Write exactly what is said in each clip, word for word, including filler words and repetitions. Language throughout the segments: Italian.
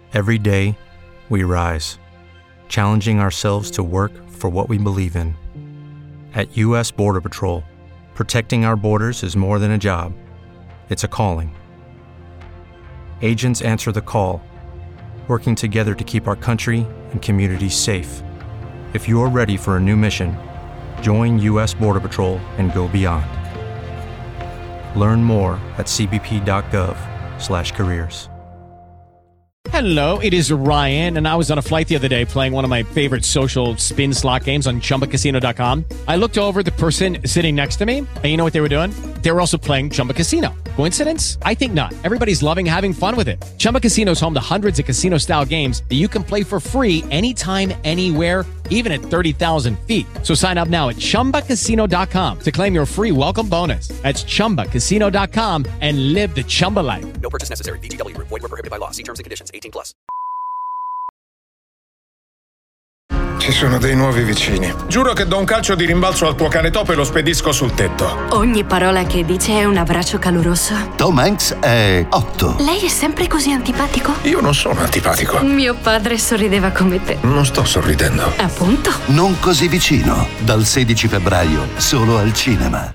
Every day, we rise, challenging ourselves to work for what we believe in. At U S Border Patrol, protecting our borders is more than a job. It's a calling. Agents answer the call, working together to keep our country and communities safe. If you're ready for a new mission, join U S Border Patrol and go beyond. Learn more at c b p dot gov slash careers. Hello, it is Ryan, and I was on a flight the other day playing one of my favorite social spin slot games on chumba casino dot com. I looked over at the person sitting next to me, and you know what they were doing? They were also playing Chumba Casino. Coincidence? I think not. Everybody's loving having fun with it. Chumba Casino is home to hundreds of casino-style games that you can play for free anytime, anywhere, even at thirty thousand feet. So sign up now at chumba casino dot com to claim your free welcome bonus. That's chumba casino dot com and live the Chumba life. No purchase necessary. V G W. Void where prohibited by law. See terms and conditions. eighteen plus. Ci sono dei nuovi vicini. Giuro che do un calcio di rimbalzo al tuo cane topo e lo spedisco sul tetto. Ogni parola che dice è un abbraccio caloroso. Tom Hanks è otto. Lei è sempre così antipatico? Io non sono antipatico. Mio padre sorrideva come te. Non sto sorridendo. Appunto. Non così vicino. Dal sedici febbraio, solo al cinema.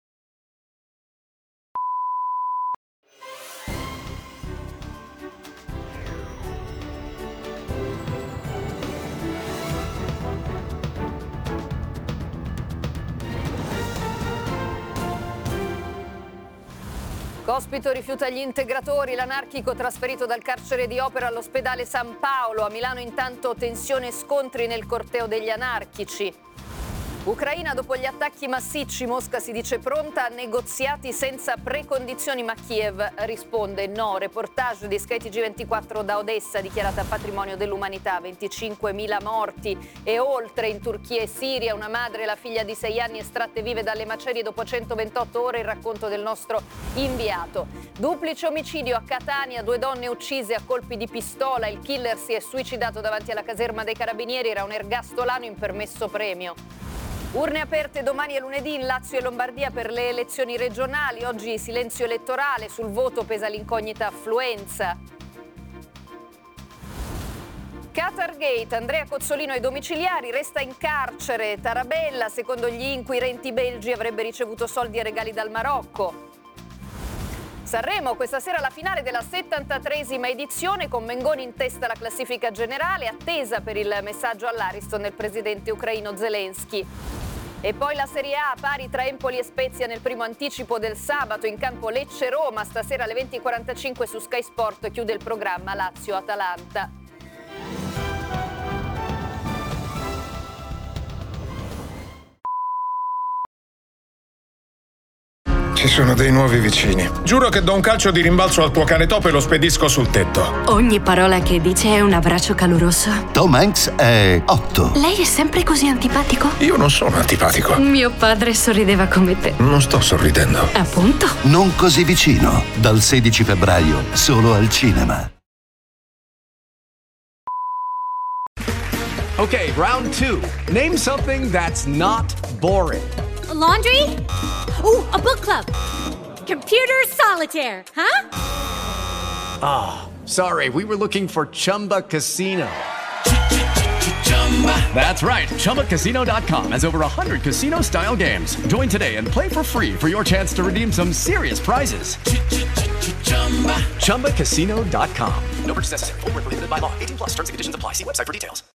Cospito rifiuta gli integratori, l'anarchico trasferito dal carcere di Opera all'ospedale San Paolo. A Milano intanto tensione e scontri nel corteo degli anarchici. Ucraina dopo gli attacchi massicci, Mosca si dice pronta a negoziati senza precondizioni, ma Kiev risponde no. Reportage di Sky T G ventiquattro da Odessa, dichiarata patrimonio dell'umanità, venticinquemila morti e oltre in Turchia e Siria. Una madre e la figlia di sei anni estratte vive dalle macerie dopo centoventotto ore, il racconto del nostro inviato. Duplice omicidio a Catania, due donne uccise a colpi di pistola, il killer si è suicidato davanti alla caserma dei carabinieri, era un ergastolano in permesso premio. Urne aperte domani e lunedì in Lazio e Lombardia per le elezioni regionali. Oggi silenzio elettorale, sul voto pesa l'incognita affluenza. Qatargate, Andrea Cozzolino ai domiciliari, resta in carcere. Tarabella, secondo gli inquirenti belgi, avrebbe ricevuto soldi e regali dal Marocco. Sanremo, questa sera la finale della settantatreesima edizione con Mengoni in testa alla classifica generale, attesa per il messaggio all'Ariston del presidente ucraino Zelensky. E poi la Serie A, pari tra Empoli e Spezia nel primo anticipo del sabato, in campo Lecce-Roma, stasera alle venti e quarantacinque su Sky Sport chiude il programma Lazio-Atalanta. Ci sono dei nuovi vicini. Giuro che do un calcio di rimbalzo al tuo cane topo e lo spedisco sul tetto. Ogni parola che dice è un abbraccio caloroso. Tom Hanks è otto. Lei è sempre così antipatico? Io non sono antipatico. Mio padre sorrideva come te. Non sto sorridendo. Appunto. Non così vicino. Dal sedici febbraio, solo al cinema. Okay, round two. Name something that's not boring. A laundry? Ooh, a book club. Computer solitaire, huh? Ah, oh, sorry, we were looking for Chumba Casino. That's right, chumba casino dot com has over one hundred casino-style games. Join today and play for free for your chance to redeem some serious prizes. chumba casino dot com. No purchase necessary. Void where prohibited by law. eighteen plus. Terms and conditions apply. See website for details.